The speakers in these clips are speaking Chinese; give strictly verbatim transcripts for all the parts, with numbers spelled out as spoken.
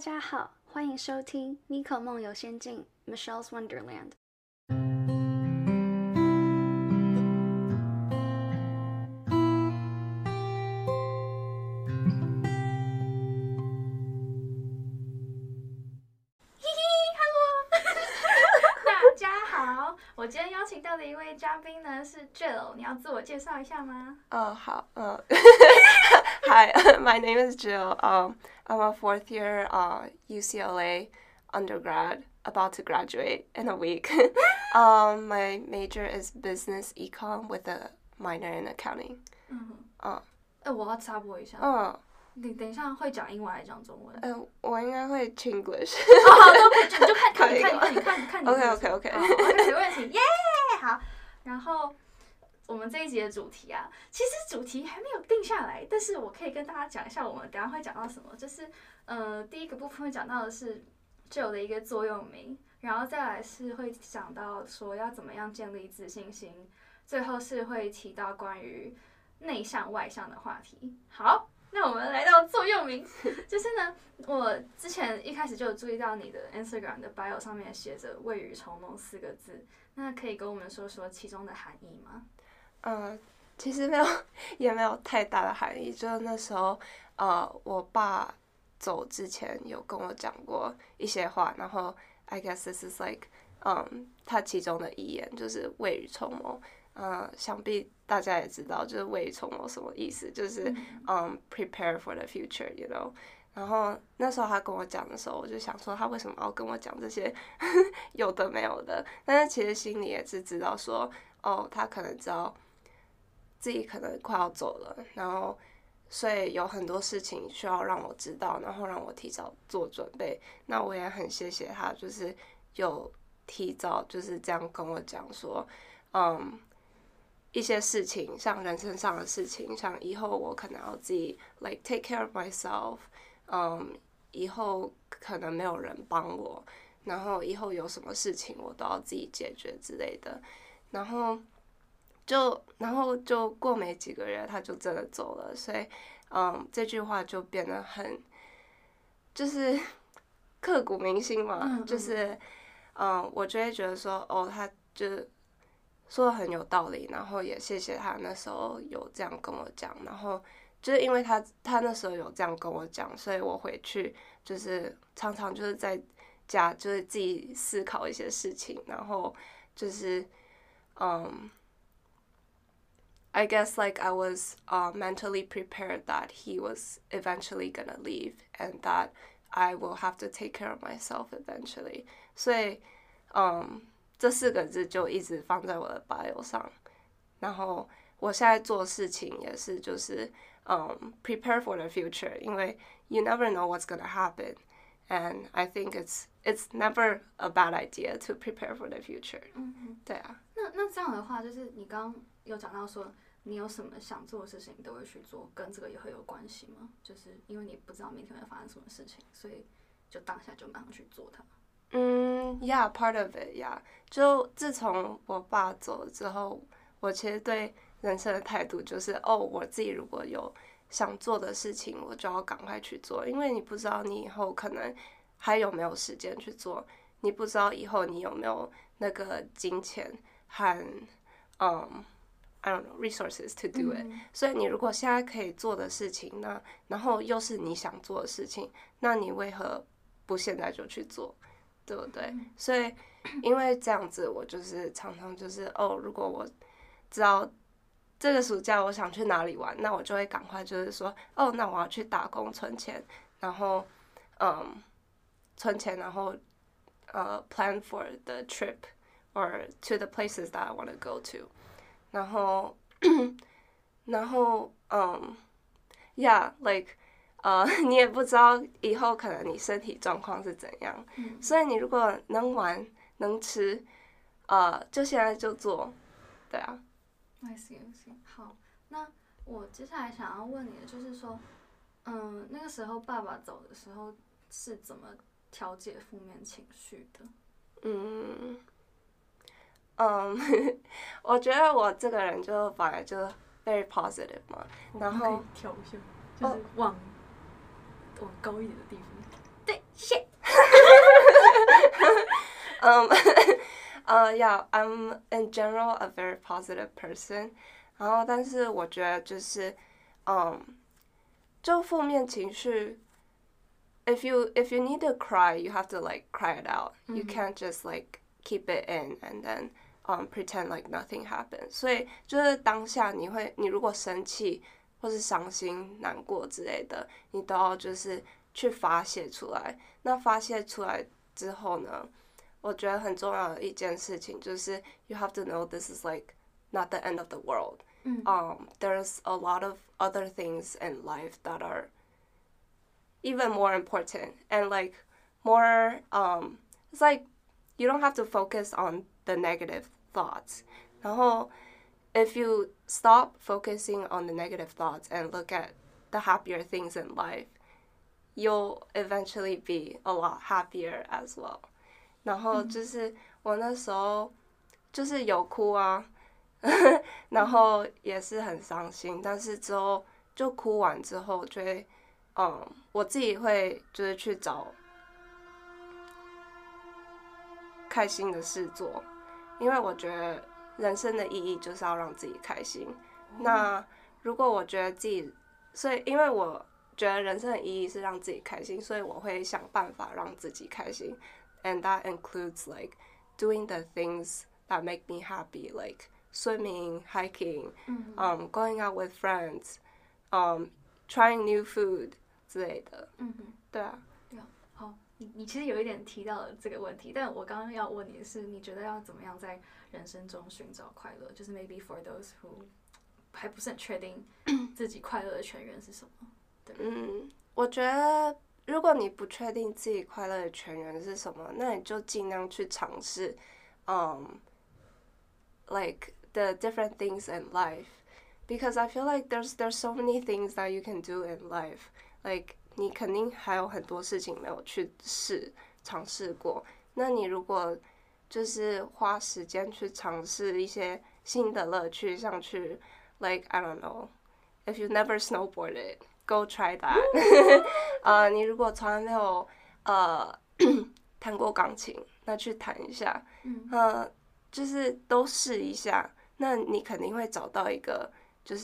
家好，欢迎收听 Miko 梦游仙境 Michelle's Wonderland。 大家好，我今天邀请到的一位嘉宾呢是 Jill， 你要自我介绍一下吗？ 哦，好，嗯 Hi, my name is Jill. Um, I'm a fourth year uh, U C L A undergrad, about to graduate in a week. um, my major is business econ with a minor in accounting. 嗯， 嗯， 哎、我要插播一下， 嗯， 你等一下会讲英文还是讲中文？ 呃，我应该会 Chinglish。 哦，好，都可以，你就看看可以你看你看你看你看你 OK OK OK。 哦 OK 没问题，耶、好，然后我们这一集的主题啊，其实主题还没有定下来，但是我可以跟大家讲一下，我们等一下会讲到什么，就是呃，第一个部分会讲到的是 Jill 的一个座右铭，然后再来是会讲到说要怎么样建立自信心，最后是会提到关于内向外向的话题。好，那我们来到座右铭，就是呢，我之前一开始就有注意到你的 Instagram 的 bio 上面写着“未雨绸缪”四个字，那可以跟我们说说其中的含义吗？ 嗯，其实没有，也没有太大的含义。就是那时候，呃，我爸走之前有跟我讲过一些话，然后 I guess this is like， 嗯，他其中的遗言就是未雨绸缪。呃，想必大家也知道，就是未雨绸缪什么意思，就是嗯 prepare for the future，you know。然后那时候他跟我讲的时候，我就想说他为什么要跟我讲这些有的没有的？但是其实心里也是知道说，哦，他可能知道自己可能快要走了，然后所以有很多事情需要让我知道，然后让我提早做准备。那我也很谢谢他，就是有提早就是这样跟我讲说，嗯。一些事情，像人生上的事情，像以后我可能要自己 like take care of myself， 嗯，以后可能没有人帮我，然后以后有什么事情我都要自己解决之类的，然后就然后就过没几个月他就真的走了，所以嗯，这句话就变得很就是刻骨铭心嘛， 嗯嗯就是嗯，我就会觉得说哦，他就。说的很有道理，然后也谢谢他那时候有这样跟我讲，然后就是因为他他那时候有这样跟我讲，所以我回去就是常常就是在家就是自己思考一些事情，然后就是嗯 I guess like I was uh, mentally prepared that he was eventually gonna leave and that I will have to take care of myself eventually， 所以嗯。这四个字就一直放在我的 bio 上，然后我现在做事情也是就是嗯 prepare for the future， 因为 you never know what's gonna happen and I think it's it's never a bad idea to prepare for the future。 嗯， 对啊。 那那这样的话，就是你刚刚有讲到说，你有什么想做的事情，你都会去做，跟这个也会有关系吗？就是因为你不知道明天会发生什么事情，所以就当下就马上去做它。 嗯 ，Yeah, part of it, yeah。就自从我爸走了之后，我其实对人生的态度就是，哦，我自己如果有想做的事情，我就要赶快去做，因为你不知道你以后可能还有没有时间去做，你不知道以后你有没有那个金钱和嗯 I don't know resources to do it、嗯。所以你如果现在可以做的事情，那然后又是你想做的事情，那你为何不现在就去做？对不对？所以因为这样子，我就是常常就是哦，如果我知道这个暑假我想去哪里玩，那我就会赶快就是说哦，那我要去打工存钱，然后嗯存钱，然后呃 plan for the trip or to the places that I want to go to， 然后然后嗯 yeah like。呃，你也不知道以后可能你身体状况是怎样， 嗯、 所以你如果能玩能吃，呃，就现在就做，对啊。 I see, I see。好，那我接下来想要问你的就是说，嗯，那个时候爸爸走的时候是怎么调节负面情绪的？ 嗯，嗯，我觉得我这个人就本来就 very positive 嘛，然后调一下，就是往。往高一点的地方。对， Um, uh, yeah, I'm in general a very positive person. 然后，但是我觉得就是，嗯，就负面情绪 ，if you if you need to cry, you have to like cry it out. You can't just like keep it in and then um pretend like nothing happened. 所以就是当下你会，你如果生气或是伤心、难过之类的，你都要就是去发泄出来。那发泄出来之后呢，我觉得很重要的一件事情就是 you have to know this is like not the end of the world. Um, there's a lot of other things in life that are even more important and like more um it's like you don't have to focus on the negative thoughts. 然后 if you stop focusing on the negative thoughts and look at the happier things in life, you'll eventually be a lot happier as well. 然后就是我那时候就是有哭啊然后也是很伤心，但是之后就哭完之后就会嗯我自己会就是去找开心的事做，因为我觉得人生的意义就是要让自己开心。那如果我觉得自己，所以因为我觉得人生的意义是让自己开心，所以我会想办法让自己开心。And that includes like doing the things that make me happy, like swimming, hiking, um, going out with friends, um, trying new food 之类的。嗯哼，对啊。 对啊，好，你你其实有一点提到了这个问题，但我刚刚要问你的是，你觉得要怎么样在人生中寻找快乐？就是 maybe for those who 还不是很确定自己快乐的泉源是什么？对。 嗯，我觉得如果你不确定自己快乐的泉源是什么，那你就尽量去尝试，嗯、um,，like the different things in life, because I feel like there's there's so many things that you can do in life. Like 你肯定还有很多事情没有去试尝试过，那你如果就是花时间去尝试一些新的乐趣，像去 like I don't know, if you never snowboarded, go try that. 呃，你如果从来没有呃弹过钢琴，那去弹一下，呃，就是都试一下，那你肯定会找到一个就是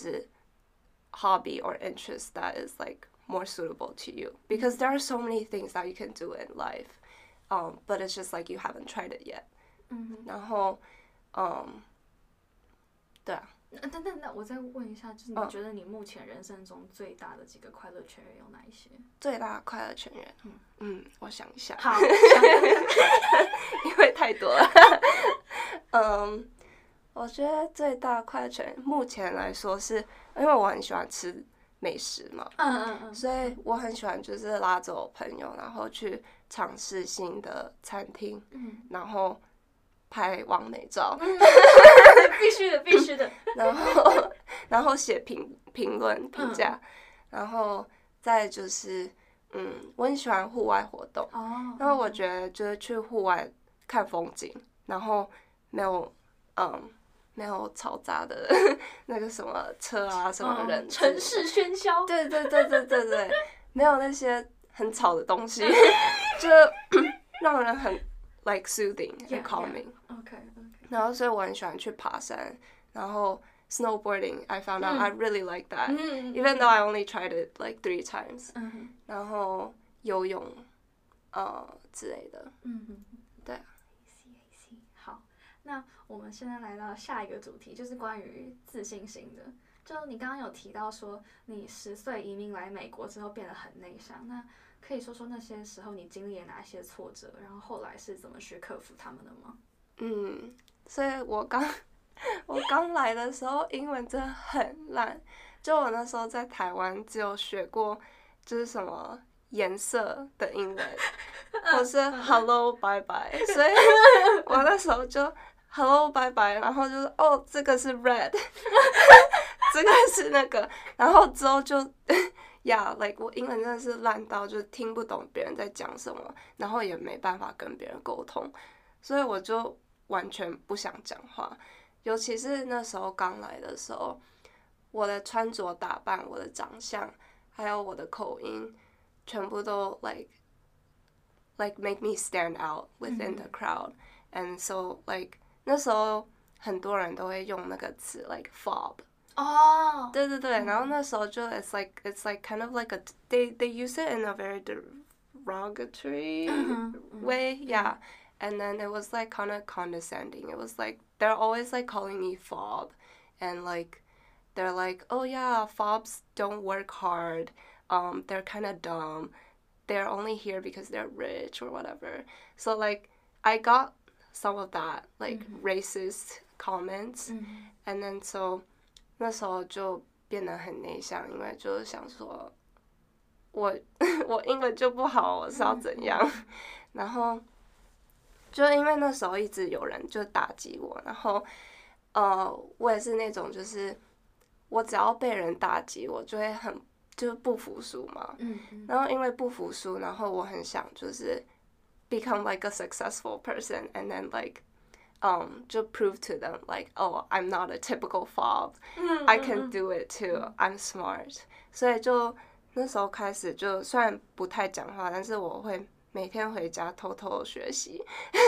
hobby or interest that is like more suitable to you, because there are so many things that you can do in life, um, but it's just like you haven't tried it yet. 然后，嗯，对啊。 那那那那我再问一下，就是你觉得你目前人生中最大的几个快乐泉源有哪一些？ 最大的快乐泉源，嗯嗯，我想一下， 好， 因为太多了。嗯，我觉得最大的快乐泉源，目前来说是因为我很喜欢吃美食嘛， 嗯嗯嗯， 所以我很喜欢就是拉着我朋友，然后去尝试新的餐厅，嗯，然后拍完美照， 必须的，必须的。 然后，然后写评评论评价，然后再就是，嗯，我很喜欢户外活动， 哦， 然后我觉得就是去户外看风景，然后没有，嗯，没有嘈杂的那个什么车啊，什么人， 城市喧嚣， 对对对对对对，没有那些很吵的东西，就让人很 like soothing and calming。OK OK。 然后所以我很喜欢去爬山，然后 snowboarding I found out I really like that, even though I only tried it like three times. 然后游泳，呃之类的。嗯对。 好，那我们现在来到下一个主题，就是关于自信心的。就你刚刚有提到说，你十岁移民来美国之后变得很内向，那可以说说那些时候你经历了哪些挫折，然后后来是怎么去克服他们的吗？ 嗯，所以我刚我刚来的时候英文真的很烂，就我那时候在台湾只有学过就是什么颜色的英文，或是 hello bye bye， 所以我那时候就 hello bye bye， 然后就是哦这个是 red， 这个是那个，然后之后就呀、yeah, like 我英文真的是烂到就听不懂别人在讲什么，然后也没办法跟别人沟通，所以我就完全不想讲话，尤其是那时候刚来的时候，我的穿着打扮、我的长相，还有我的口音，全部都 like like make me stand out within the crowd， and so like 那时候很多人都会用那个词 like fob。 哦， 对对对，然后那时候就 it's like it's like kind of like a they they use it in a very derogatory way, yeah. And then it was like kind of condescending. It was like they're always like calling me fob, and like they're like, oh yeah, fobs don't work hard. Um, they're kind of dumb. They're only here because they're rich or whatever. So like I got some of that like racist comments, and then so 那时候就变得很内向，因为就是想说我我英文就不好，我是要怎样？然后就因为那时候一直有人就打击我，然后呃，我也是那种就是我只要被人打击，我就会很就是不服输嘛。 嗯， 然后因为不服输，然后我很想就是 become like a successful person and then like um 就 prove to them like oh I'm not a typical fob, I can do it too, I'm smart. 所以就那时候开始就虽然不太讲话，但是我会每天回家偷偷学习。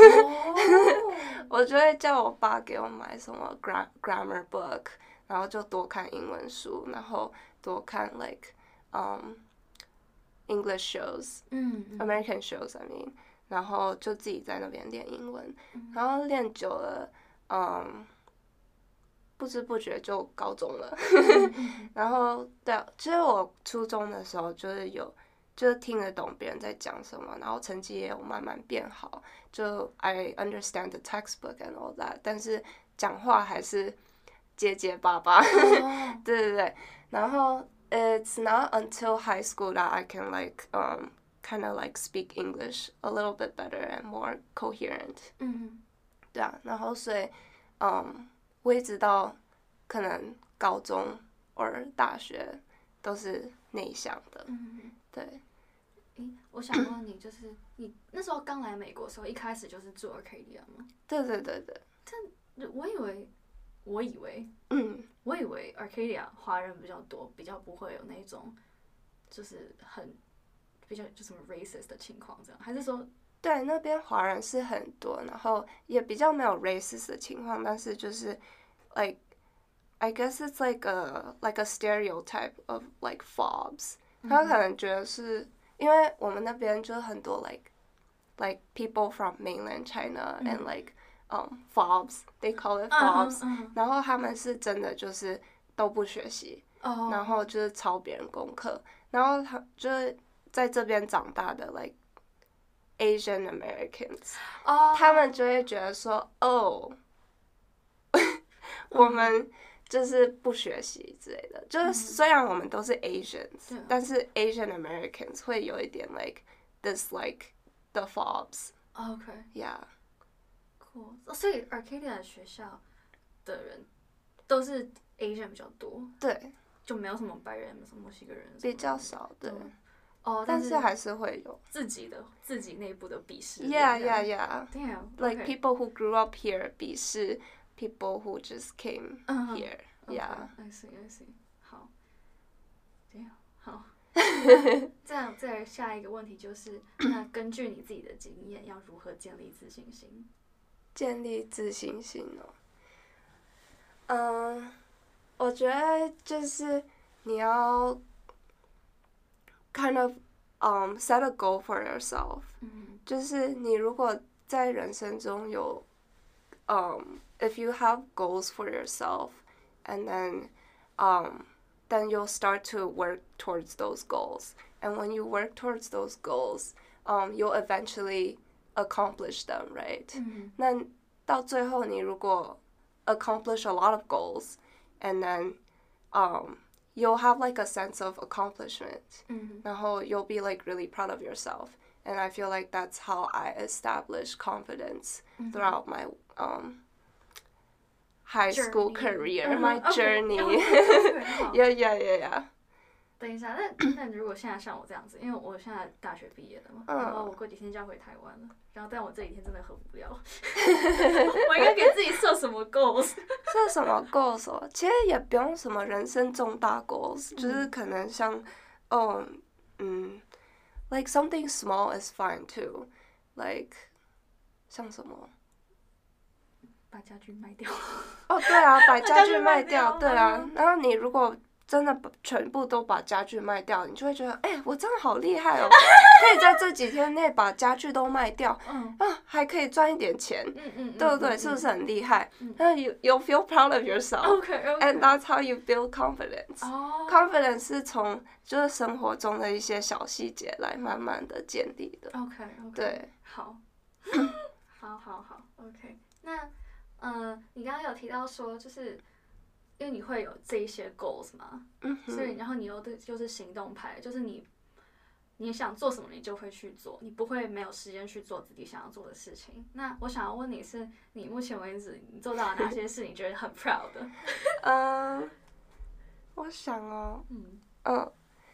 我就会叫我爸给我买什么 gra grammar book， 然后就多看英文书，然后多看 like um English shows, 嗯 American shows I mean， 然后就自己在那边练英文，然后练久了，嗯，不知不觉就高中了。然后对啊，其实我初中的时候就是有。就是听得懂别人在讲什么，然后成绩也有慢慢变好，就 I understand the textbook and all that， 但是讲话还是结结巴巴。对对对，然后 it's not until high school that I can like um kind of like speak English a little bit better and more coherent。 嗯， 对啊，然后所以嗯，我一直到可能高中或大学都是内向的。 嗯， 对。 诶，我想问你，就是你那时候刚来美国的时候，一开始就是住 Arcadia 吗？ 对对对对。 但我以为，我以为， 嗯， 我以为 Arcadia 华人比较多，比较不会有那种，就是很比较就什么 racist 的情况，这样，还是说？ 对，那边华人是很多，然后也比较没有 racist 的情况，但是就是 like I guess it's like a like a stereotype of like fobs， 他可能觉得是。因为我们那边就很多 like like people from mainland China and like um fobs, they call it fobs， 然后他们是真的就是都不学习，然后就是抄别人功课，然后他就是在这边长大的 like Asian Americans， 他们就会觉得说哦，我们。就是不学习之类的，就是虽然我们都是 Asians，、嗯、但是 Asian Americans 会有一点 like dislike the fobs。Okay。Yeah。 Cool。所以 Arcadia 学校的人都是 Asian 比较多。 对。 就没有什么白人，什么墨西哥人。 比较少，对。 哦， 但是还是会有自己的自己内部的鄙视。 Yeah, yeah, yeah. Damn。Like people who grew up here 鄙视。People who just came here, yeah. I see, I see. 好，这样好。这样，再来下一个问题就是，那根据你自己的经验，要如何建立自信心？ 建立自信心哦。嗯，我觉得就是你要 kind of um set a goal for yourself。嗯。就是你如果在人生中有um if you have goals for yourself, and then, um, then you'll start to work towards those goals. And when you work towards those goals, um, you'll eventually accomplish them, right? 那到最后你如果 accomplish a lot of goals, and then, um, you'll have like a sense of accomplishment. 然后 you'll be like really proud of yourself. And I feel like that's how I establish confidence throughout my, um, high school career, my journey. Yeah, yeah, yeah, yeah. 等一下，那那如果现在像我这样子，因为我现在大学毕业了嘛，然后我过几天就要回台湾了，然后但我这几天真的很无聊，我应该给自己设什么 goals？ 设什么 goals 哦？其实也不用什么人生重大 goals，、嗯、就是可能像，哦，嗯 ，like something small is fine too，like 像什么？ 把家具卖掉。 哦，对啊，把家具卖掉， 把家具卖掉对啊嗯。 然后你如果真的把全部都把家具卖掉，你就会觉得，哎、我真的好厉害哦，可以在这几天内把家具都卖掉， 嗯啊，还可以赚一点钱， 嗯嗯， 对不对？ 嗯是不是很厉害？ 嗯那 you you feel proud of yourself， ？OK OK。 and that's how you build confidence。 哦 confidence 是从就是生活中的一些小细节来慢慢的建立的。 OK OK。 对， 好，好好好 OK。那呃，你刚刚有提到说，就是因为你会有这一些 goals 嘛， 嗯哼， 所以然后你又对就是行动派，就是你你想做什么你就会去做，你不会没有时间去做自己想要做的事情。那我想要问你是，你目前为止你做到了哪些事你觉得很 proud 的？ 嗯，我想哦， 嗯嗯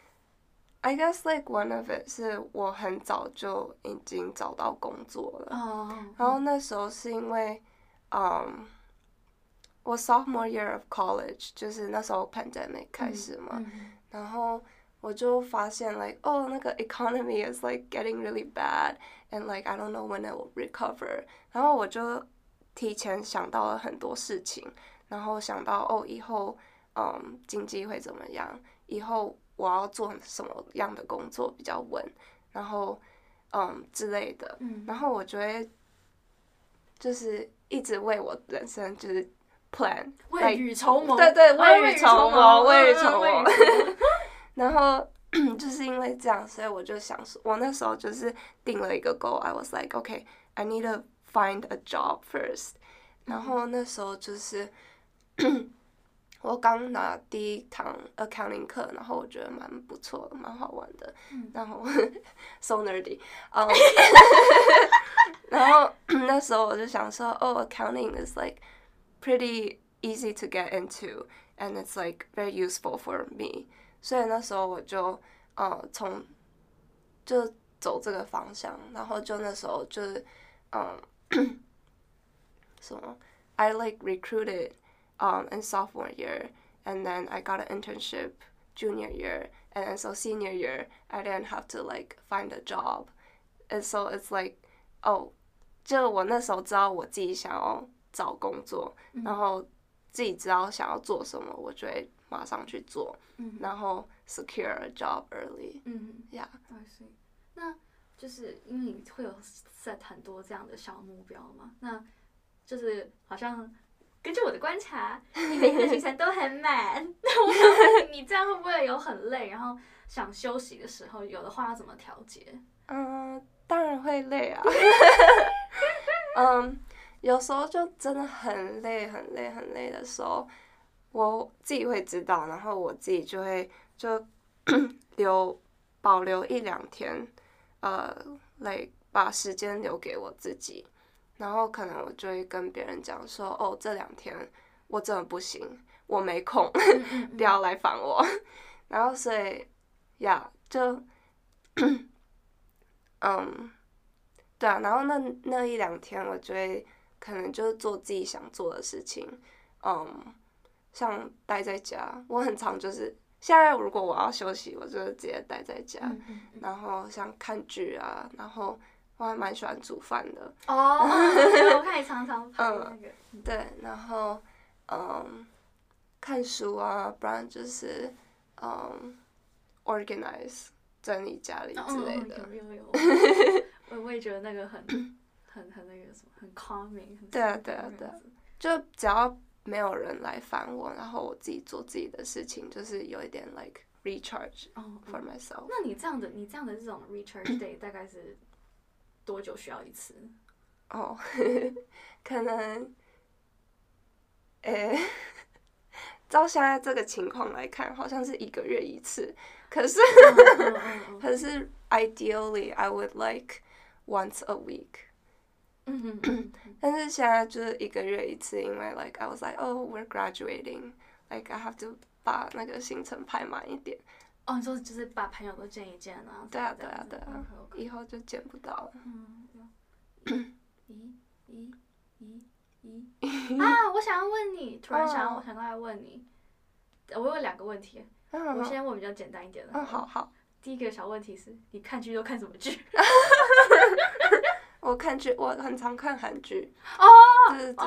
，I guess like one of it 是我很早就已经找到工作了， 哦， 然后那时候是因为，嗯，我 sophomore year of college 就是那时候 pandemic 开始嘛， 嗯然后我就发现 like oh 那个 economy is like getting really bad and like I don't know when it will recover， 然后我就提前想到了很多事情，然后想到哦以后嗯经济会怎么样，以后我要做什么样的工作比较稳，然后嗯之类的， 嗯然后我就会就是一直为我人生就是 plan， 未雨绸绸， 对对， 哦未雨绸缪，未雨绸嗯缪。 未雨绸缪然后就是因为这样，所以我就想说，我那时候就是定了一个 goal，I was like okay I need to find a job first。然后那时候就是我刚拿第一堂 accounting 课，然后我觉得蛮不错的，蛮好玩的。 嗯然后 so nerdy，嗯，然后那时候我就想说，哦 ，accounting is like pretty easy to get into and it's like very useful for me。所以那时候我就呃从就走这个方向，然后就那时候就是嗯什么 I like recruited um in sophomore year and then I got an internship junior year and then so senior year I didn't have to like find a job and so it's like oh 就我那时候知道我自己想要找工作， 嗯然后自己知道想要做什么，我就会马上去做， 嗯然后 secure a job early。 嗯 Yeah， I see。那就是因为你会有 set 很多这样的小目标嘛，那就是好像根据我的观察，你每天的行程都很满。那我想问你，你这样会不会有很累，然后想休息的时候，有的话要怎么调节？ 嗯，当然会累啊。嗯，有时候就真的很累、很累、很累的时候，我自己会知道，然后我自己就会就留保留一两天，呃，来把时间留给我自己，然后可能我就会跟别人讲说，哦，这两天我真的不行，我没空，不要来烦我。然后所以呀，就嗯。对啊，然后那那一两天，我就会可能就是做自己想做的事情，嗯，像待在家，我很常就是现在如果我要休息，我就直接待在家， 嗯嗯嗯然后像看剧啊，然后我还蛮喜欢煮饭的， 哦，我看你常常拍那个， 对，然后嗯，看书啊，不然就是嗯，organize 整理家里之类的。 嗯、有有有。我我也觉得那个很很很那个什么，很 calming， 很对啊对啊对啊，就只要没有人来烦我，然后我自己做自己的事情，就是有一点 like recharge for myself。 哦、那你这样的你这样的这种 recharge day 大概是多久需要一次？ 哦，可能，诶、欸，照现在这个情况来看，好像是一个月一次，可是，可是 ideally I would like once a week。 嗯嗯但是现在就是一个月一次，因为 like I was like oh we're graduating like I have to 把那个行程排满一点。 哦，你说就是把朋友都见一见啊？ 对啊对啊对啊，以后就见不到了。 嗯，咦咦咦咦啊！我想要问你，突然想，我想到来问你，我有两个问题，我先问比较简单一点的。 嗯，好好。 第一个小问题是，你看剧都看什么剧？ 我看剧，我很常看韩剧。 哦， 对对对。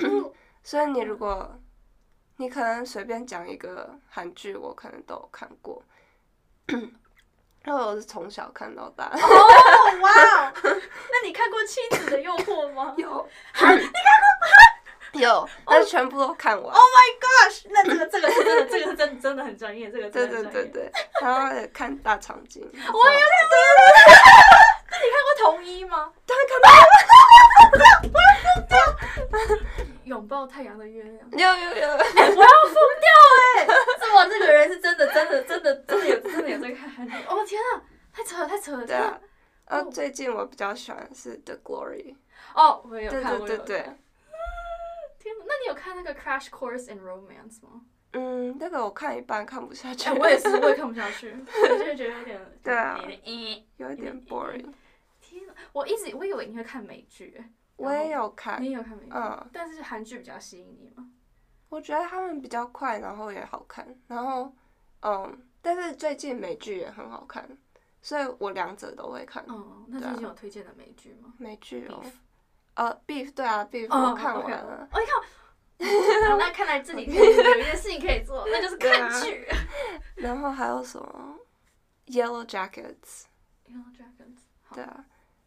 所以你如果你可能随便讲一个韩剧，我可能都有看过。因为我是从小看到大。 哦，哇！那你看过《妻子的诱惑》吗？ 有。你看过吗？有，但是全部都看完。 Oh my gosh！ 那这个这个是真的，这个是真真的很专业，这个真的很专业。 对对对对，然后也看大长今。我也看过。那你看过同一吗？ 当然看到。我要疯掉！拥抱太阳的月亮。 有有有。 哎、欸，我要疯掉哎、欸！是我这个人是真的真的真的真的有真的有在看韩剧。哦天啊，太扯了太扯了！ 对啊。然后最近我比较喜欢的是《The Glory》。 哦，我也有看， 对对对对。 天哪，那你有看那个《Crash Course in Romance》吗？ 嗯，那个我看一半看不下去。 欸、我也是，我也看不下去，我就觉得有点对啊， 有一点 boring。 天哪，我一直我以为你会看美剧， 我也有看， 你也有看美剧， 嗯， 但是韩剧比较吸引你吗？ 我觉得他们比较快，然后也好看，然后嗯，但是最近美剧也很好看，所以我两者都会看。 嗯，那最近有推荐的美剧吗？ 美剧哦，呃 ，Beef 对啊 ，Beef 我看完了。 哦，你看。好，那看来自己有一件事情可以做，那就是看剧。 然后还有什么 Yellow Jackets。Yellow Jackets。 对啊。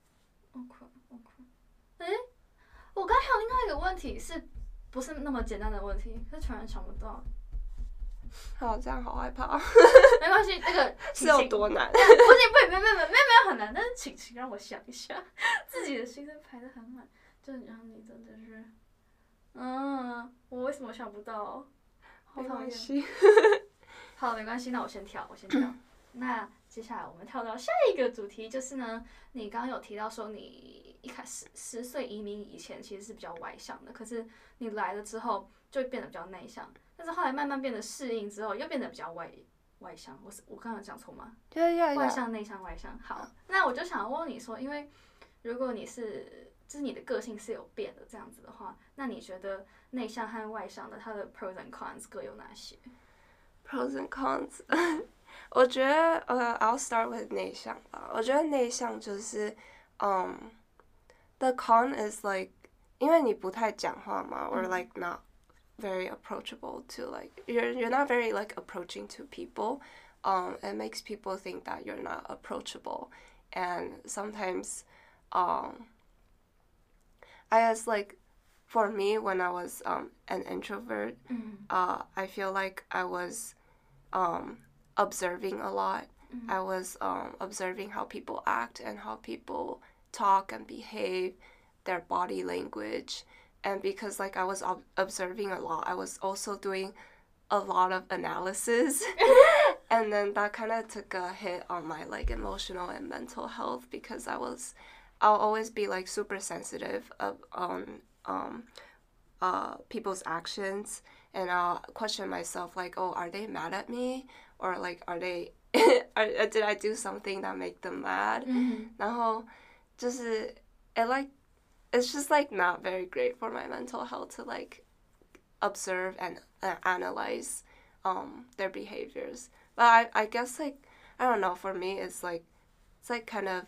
OK OK。哎，我刚还有另外一个问题，是不是那么简单的问题？可是突然想不到。 好，这样好害怕。 没关系，那个是有多难？ 不行，不，没没没没没有很难，但是请请让我想一下，自己的心在排得很满，就让你真的是。嗯，我为什么想不到？好讨厌。好，没关系，那我先跳，我先跳。那接下来我们跳到下一个主题，就是呢，你刚刚有提到说你一开始十岁移民以前其实是比较外向的，可是你来了之后就变得比较内向，但是后来慢慢变得适应之后又变得比较外外向。我是我刚刚讲错吗？ 对呀， 外向、内向、外向。好，那我就想问你说，因为如果你是就是你的个性是有变的这样子的话，那你觉得内向和外向的它的 pros and cons 各有哪些 ？pros and cons， 我觉得呃、uh, ，I'll start with 内向吧。我觉得内向就是，嗯、um, ，the con is like， 因为你不太讲话嘛、嗯、，or like not very approachable to like you're you're not very like approaching to people. Um, it makes people think that you're not approachable, and sometimes, um. I guess like for me when I was um, an introvert, mm-hmm. uh, I feel like I was um, observing a lot. Mm-hmm. I was um, observing how people act and how people talk and behave, their body language. And because like I was ob- observing a lot, I was also doing a lot of analysis. And then that kind of took a hit on my like emotional and mental health because I was I'll always be like super sensitive of on um uh people's actions, and I'll question myself like, oh, are they mad at me, or like are they are, did I do something that make them mad? Mm-hmm. 然后就是 it like it's just like not very great for my mental health to like observe and uh, analyze um their behaviors. But I I guess like I don't know, for me it's like it's like kind of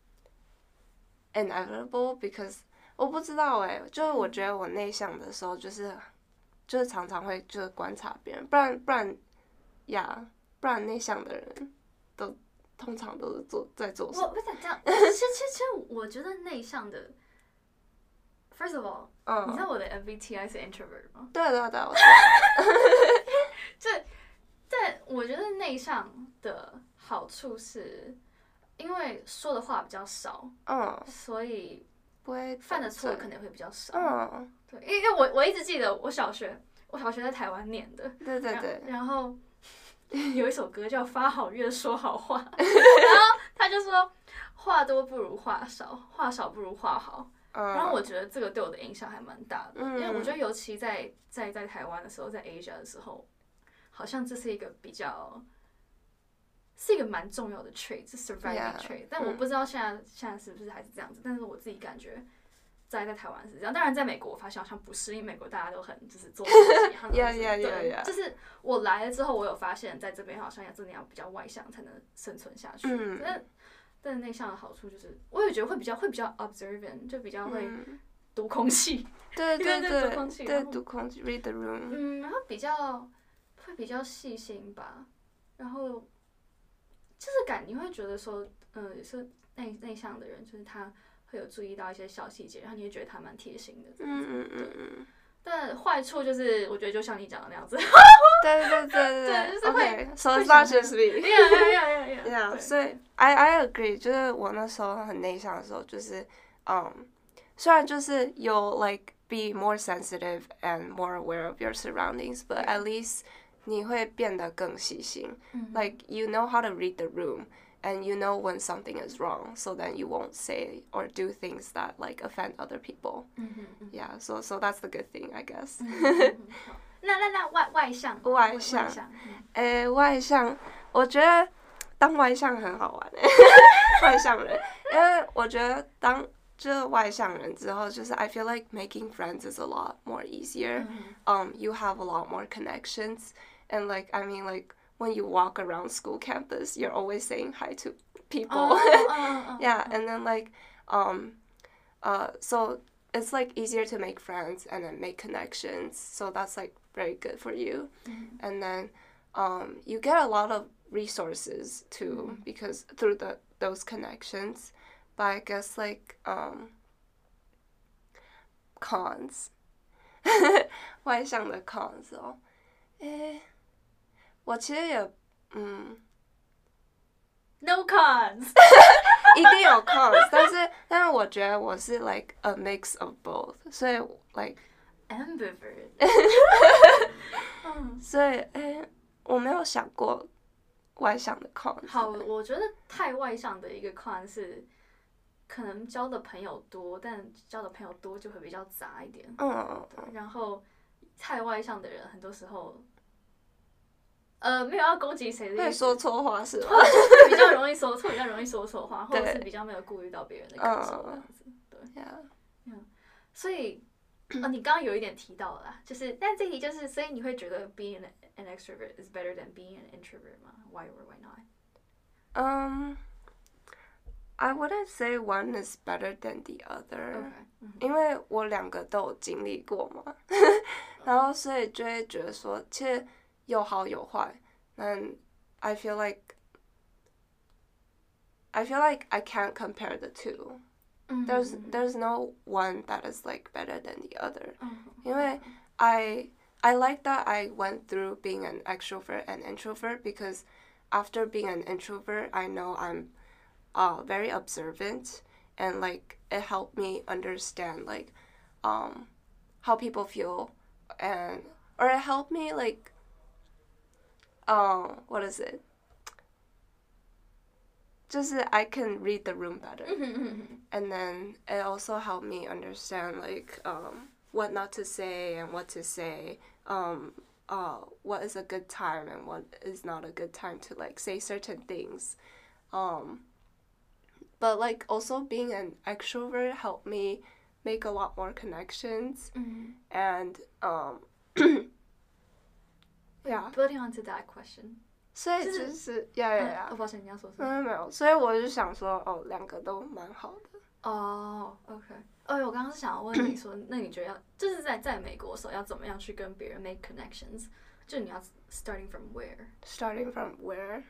inevitable because 我不知道哎、欸，就是我觉得我内向的时候，就是就是常常会就是观察别人，不然不然呀，不然内向的人都通常都是做在做什么？ 我不想这样，其实其实其实我觉得内向的 ，first of all，、嗯、你知道我的 M B T I 是 introvert 吗？ 对对对，我知道。 这但我觉得内向的好处是。因为说的话比较少， 嗯， 所以不会犯的错可能会比较少。 嗯， 对，因为我我一直记得我小学，我小学在台湾念的， 对对对。 然后有一首歌叫《发好月说好话》，然后他就说话多不如话少，话少不如话好。 嗯、 然后我觉得这个对我的影响还蛮大的， 嗯、 因为我觉得尤其在在在台湾的时候，在 Asia 的时候，好像这是一个比较。是一个蛮重要的 trait， 是 surviving trait， 但我不知道现在、嗯、现在是不是还是这样子，但是我自己感觉在在台湾是这样，当然在美国我发现好像不是，因为美国大家都很就是做自己，他们对，就是我来了之后，我有发现在这边好像要真的要比较外向才能生存下去， 嗯、 但但内向的好处就是，我也觉得会比较会比较 observant， 就比较会读空气， 对对对对读空气对然后读空气 read the room。 嗯，然后比较会比较细心吧，然后就是感你会觉得说，嗯，也是内内向的人，就是他会有注意到一些小细节，然后你会觉得他蛮贴心的。 嗯嗯嗯嗯。 但坏处就是，我觉得就像你讲的那样子。 对对对对对就是会 OK，so it's 会 not 想 just me。 Yeah yeah yeah yeah Yeah， 对所以 I I agree， 就是我那时候很内向的时候，就是嗯，虽然就是有 like be more sensitive and more aware of your surroundings，but Yeah. at least 你会变得更细心。 嗯 Like you know how to read the room. And you know when something is wrong, so then you won't say or do things that like offend other people. 嗯哼嗯 Yeah, so so that's the good thing, I guess. 嗯哼嗯哼好那那那外外向外向外向，嗯诶，外向，我觉得当外向很好玩诶，外向人，因为我觉得当就是外向人之后，就是 I feel like making friends is a lot more easier. 嗯 Um, you have a lot more connections, and like I mean like when you walk around school campus, you're always saying hi to people. 哦哦哦 Yeah, and then like um, uh, so it's like easier to make friends and then make connections. So that's like very good for you. 嗯 And then um, you get a lot of resources too Mhm. because through the those connections. But I guess like um, cons. 外向的 cons 哦，诶，我其实也嗯， ，No cons。 一定有 cons，但是但是我觉得我是 like a mix of both，所以 like Ambivert。嗯， 所以诶，我没有想过外向的 cons。 好，我觉得太外向的一个 con 是，可能交的朋友多，但交的朋友多就会比较杂一点。 嗯嗯嗯， 然后太外向的人，很多时候，呃，没有要攻击谁的意思， 会说错话是吗？ 会比较容易说错，比较容易说错话，或者是比较没有顾虑到别人的感受这样子。对， Yeah. 所以，呃，你刚刚有一点提到了啦，就是，但这题就是，所以你会觉得 being an, an extrovert is better than being an introvert 吗 ？Why or why not? Um, I wouldn't say one is better than the other. OK，嗯因为我两个都有经历过嘛，然后所以就会觉得说，其实有好有坏。但 I feel like I feel like I can't compare the two. 嗯 There's 嗯 there's no one that is like better than the other. 嗯因为 I I like that I went through being an extrovert and introvert because after being an introvert, I know I'm uh very observant and like it helped me understand like um how people feel and or it helped me like um what is it? 就是 I can read the room better. 嗯嗯嗯 And then it also helped me understand like um what not to say and what to say. Um uh what is a good time and what is not a good time to like say certain things. Um but like also being an extrovert helped me make a lot more connections 嗯 and um yeah. Building onto that question， 所以就就是是 yeah yeah 嗯 yeah. 哦，抱歉，你要说什么？ 嗯，没有，所以我就想说，哦，两个都蛮好的。 哦、oh,，OK，哦，我刚刚是想要问你说，那你觉得要就是在在美国的时候要怎么样去跟别人 make connections？就你要 starting from where？Yeah， Starting from where？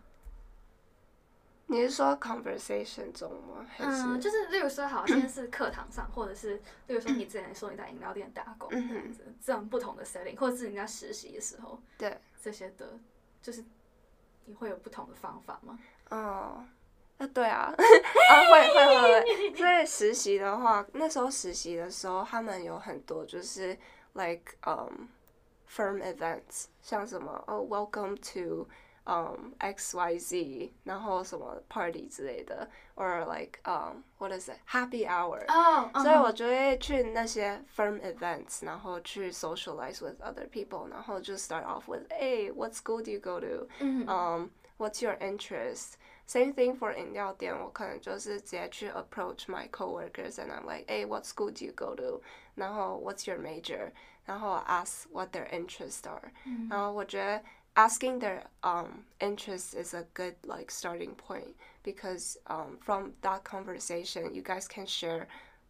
你是说 conversation 中吗？还是嗯，就是例如说，好，今天是课堂上，或者是例如说你之前说你在饮料店打工这样子，这样不同的 setting， 或者是你在实习的时候， 对这些的，就是你会有不同的方法吗？ 哦，啊对啊，啊会会会会。所以实习的话，那时候实习的时候，他们有很多就是 like um firm events， 像什么哦 welcome to um X Y Z， 然后什么 party 之类的 ，or like um what is it happy hour。 哦， 所以我就会去那些 firm events， 然后去 socialize with other people， 然后就 start off with, hey, what school do you go to? 嗯 Um, what's your interest? Same thing for 饮料店，我可能就是直接去 approach my coworkers and I'm like, hey, what school do you go to? 然后 what's your major? 然后 ask what their interests are. 嗯然后我觉得 asking their um interests is a good like starting point because um from that conversation you guys can share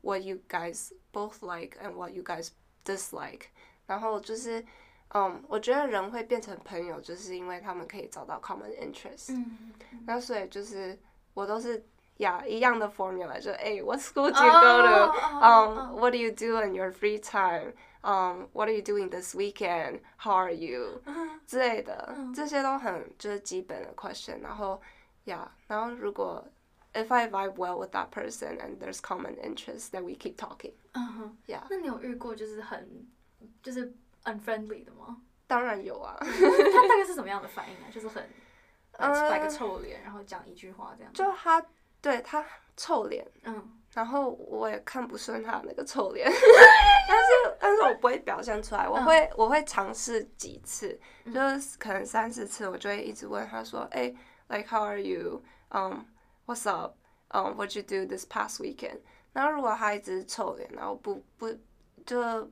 what you guys both like and what you guys dislike。然后就是，嗯，我觉得人会变成朋友，就是因为他们可以找到 common interest。 嗯， 那所以就是我都是呀一样的 formula， 就哎 ，what school do you go to？ Um, what do you do in your free time？ Um, what are you doing this weekend? How are you？ 之类的，这些都很就是基本的 question。然后呀，然后如果 if I vibe well with that person and there's common interest, then we keep talking。 嗯哼， Yeah。 那你有遇过就是很就是 unfriendly 的吗？ 当然有啊。 他大概是什么样的反应啊？就是很呃摆个臭脸，然后讲一句话这样。 就他对他臭脸， 嗯， 然后我也看不顺他那个臭脸，但是但是我不会表现出来，我会、嗯、我会尝试几次，就是可能三四次，我就会一直问他说，哎、欸、，like how are you？ Um, what's up？ Um, what you do this past weekend？ 然后如果他一直臭脸，然后不不就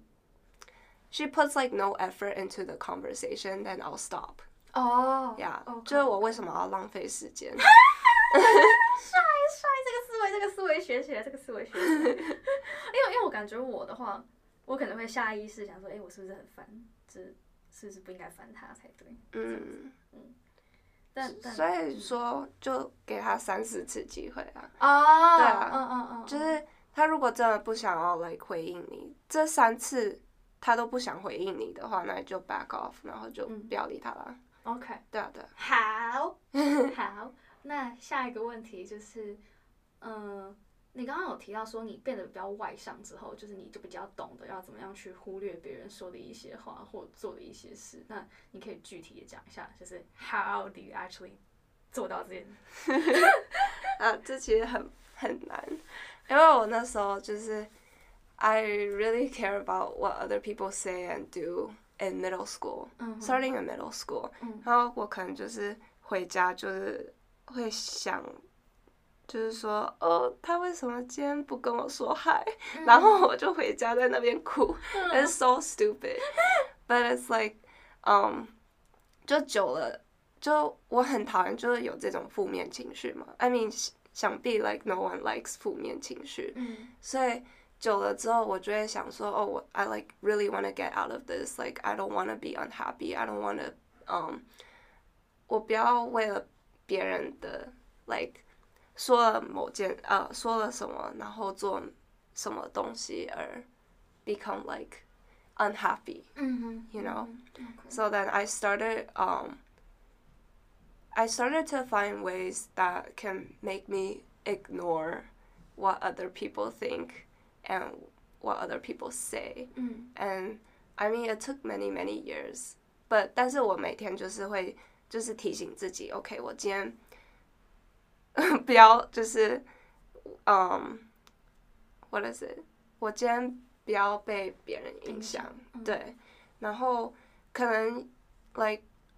she puts like no effort into the conversation, then I'll stop。 哦， 呀， okay. 就是我为什么要浪费时间？ 帅帅，这个思维，这个思维学起来，这个思维学起来。因为因为我感觉我的话，我可能会下意识想说，哎、欸，我是不是很烦？就是是不是不应该烦他才对？嗯嗯。但但所以说，就给他三四次机会啊。 哦。 对啊。 嗯嗯嗯。 就是他如果真的不想要 like 回应你，这三次他都不想回应你的话，那你就 back off， 然后就不要理他了。 嗯、OK。 对啊对啊。 好。好。那下一个问题就是，嗯、呃，你刚刚有提到说你变得比较外向之后，就是你就比较懂得要怎么样去忽略别人说的一些话或做的一些事。那你可以具体的讲一下，就是 how do you actually 做到这件？ 啊，这其实很很难，因为我那时候就是 I really care about what other people say and do in middle school, mm-hmm. starting in middle school，、嗯、然后我可能就是回家就是会想，就是说哦，他为什么今天不跟我说嗨？嗯、然后我就回家在那边哭、嗯、，It's so stupid， but it's like， um， 就久了，就我很讨厌就是有这种负面情绪嘛。I mean， 想必 like no one likes 负面情绪，嗯、所以久了之后，我就会想说，哦，我 I like really want to get out of this. Like I don't want to be unhappy. I don't want to um， 我不要为了别人的 like 说了某件呃说了什么，然后做什么东西而 become like unhappy. Mm-hmm. You know. Okay. So then I started um. I started to find ways that can make me ignore what other people think and what other people say. Mm. And I mean, it took many, many years. But 但是我每天就是会就是提醒自己 ，OK， 我今天不要就是嗯、um, ，what is it？ 我今天不要被别人影响， 嗯、 对。然后可能 like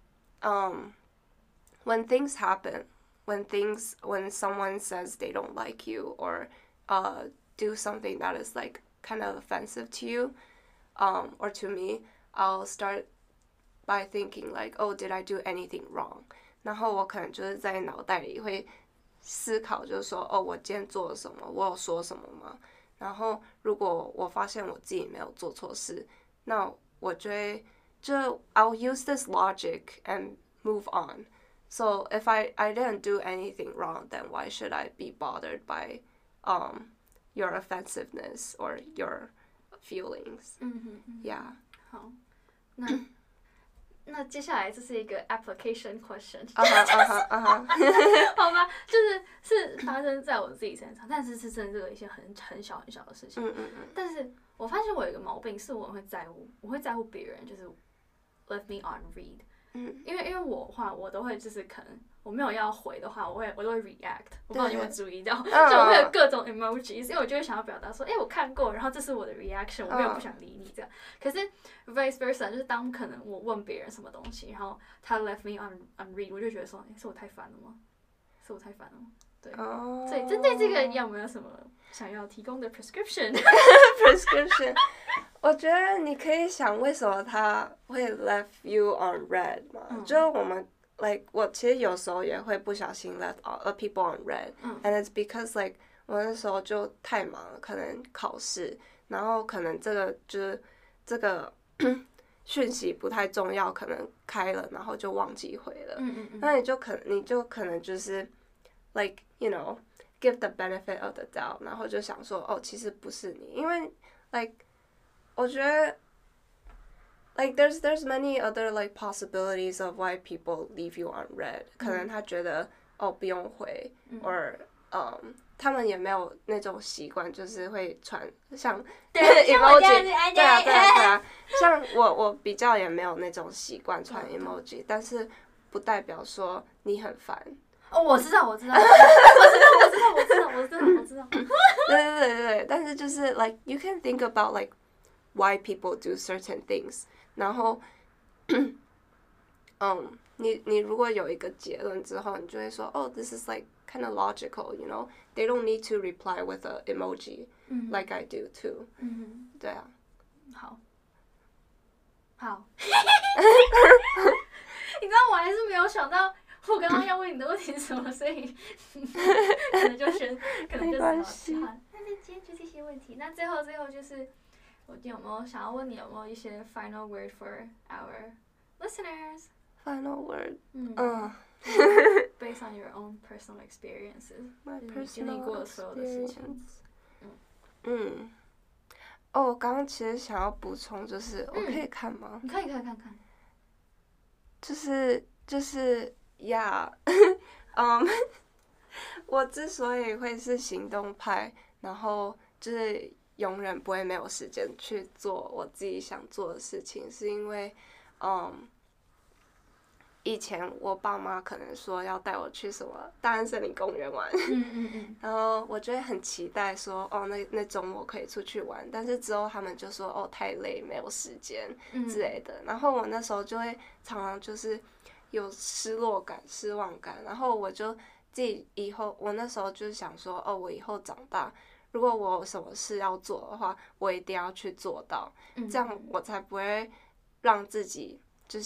um when things happen, when things when someone says they don't like you or uh do something that is like kind of offensive to you, um or to me, I'll start by thinking like, oh, did I do anything wrong? 然后我可能就是在脑袋里会思考，就是说，哦，我今天做了什么？我有说什么吗？然后如果我发现我自己没有做错事，那我就会就 I'll use this logic and move on. So if I I didn't do anything wrong, then why should I be bothered by um your offensiveness or your feelings? 嗯哼嗯 Yeah. 好，那那接下来这是一个 application question， 啊哈啊哈啊哈， 好吧，就是是发生在我自己身上，但是是真的是一些很很小很小的事情。 嗯嗯嗯。 但是我发现我有一个毛病，是我会在乎，我会在乎别人，就是 let me on read。 嗯， 因为因为我的话，我都会就是可能我没有要回的话，我会我都会 react， 我不知道你有没有注意到，就我会有各种 emojis， 因为我就会想要表达说，哎、欸，我看过，然后这是我的 reaction， 我没有不想理你这样。可是 vice versa， 就是当可能我问别人什么东西，然后他 left me on on read， 我就觉得说，哎、欸，是我太烦了吗？是我太烦了吗？对，哦、所以针对这个，你有没有什么想要提供的 prescription？ prescription 我觉得你可以想为什么他会 left you on red 嘛，嗯、就我们 like 我其实有时候也会不小心 left all, uh, people on red，、嗯、and it's because like 我那时候就太忙了，可能考试，然后可能这个就是这个讯息不太重要，可能开了然后就忘记回了。 嗯嗯嗯。 那你就可你就可能就是 like you know give the benefit of the doubt， 然后就想说哦，其实不是你，因为 like 我觉得 like there's there's many other like possibilities of why people leave you unread， 可能他觉得哦不用回， 嗯 ，or um 他们也没有那种习惯，就是会传像对像我 emoji， 这样子哎对啊对啊对啊，像我我比较也没有那种习惯传嗯 emoji，但是不代表说你很烦。 哦，我知道，我知道，我知道，我知道，我知道，我知道，我知道。 对对对对，但是就是 like you can think about like why people do certain things， 然后，嗯，你你如果有一个结论之后，你就会说，哦 ，this is like kind of logical，you know，they don't need to reply with a emoji like I do too。 嗯， 对啊。 好，好。你知道我还是没有想到。我刚刚要问你的问题是什么，所以可能就选，可能就只好好。那那今天就这些问题。那最后最后就是，我有没有想要问你有没有一些 final word for our listeners？Final word。 嗯。 嗯。 Based on your own personal experiences， My 你经历过的所有的事情。 嗯。嗯。哦，我刚刚其实想要补充，就是我可以看吗？ 你可以可以看看。 就是就是。呀，嗯，我之所以会是行动派，然后就是永远不会没有时间去做我自己想做的事情，是因为，嗯，以前我爸妈可能说要带我去什么大安森林公园玩， 嗯嗯嗯， 然后我就会很期待说，哦，那那周末可以出去玩，但是之后他们就说，哦，太累，没有时间之类的，然后我那时候就会常常就是。有失落感、失望感，然后我就自己以后，我那时候就想说，哦，我以后长大，如果我有什么事要做的话，我一定要去做到， 嗯、 这样我才不会让自己就是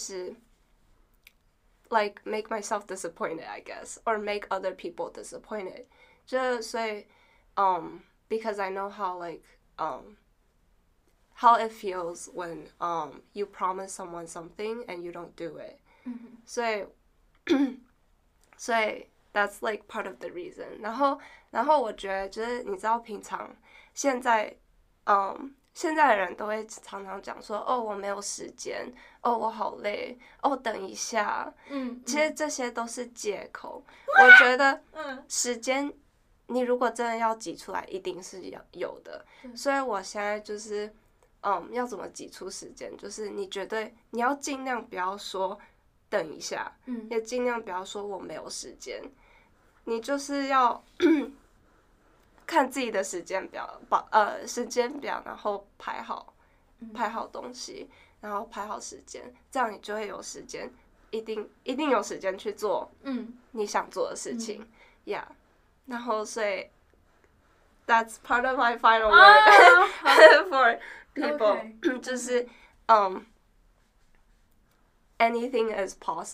like make myself disappointed, I guess, or make other people disappointed. 就所以，um, because I know how like um. how it feels when um you promise someone something and you don't do it. 所以，所以 that's like part of the reason。然后，然后我觉得就是你知道，平常现在，嗯，现在的人都会常常讲说，哦，我没有时间，哦，我好累，哦，等一下。 嗯， 其实这些都是借口。我觉得，时间你如果真的要挤出来，一定是有有的。所以我现在就是，嗯，要怎么挤出时间？就是你绝对你要尽量不要说。等一下， 嗯， 也尽量不要说我没有时间，你就是要看自己的时间表，把呃时间表，然后排好，排好东西，然后排好时间，这样你就会有时间，一定一定有时间去做， 嗯， 你想做的事情，呀、嗯 yeah ，然后所以 ，that's part of my final word、oh, for people，、okay. 就是嗯。Um, Anything is possible 。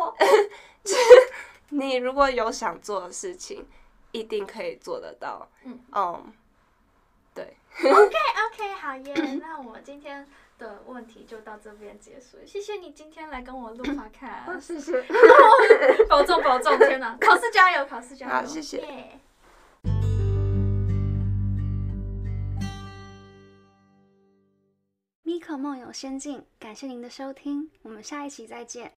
你如果有想做的事情，一定可以做得到。嗯， um, 对。 OK OK， 好耶，那我们今天的问题就到这边结束。谢谢你今天来跟我录 podcast。 谢谢。 保重保重，天哪！考试加油，考试加油。 好，谢谢。 Yeah. 咪可梦游仙境，感谢您的收听，我们下一期再见。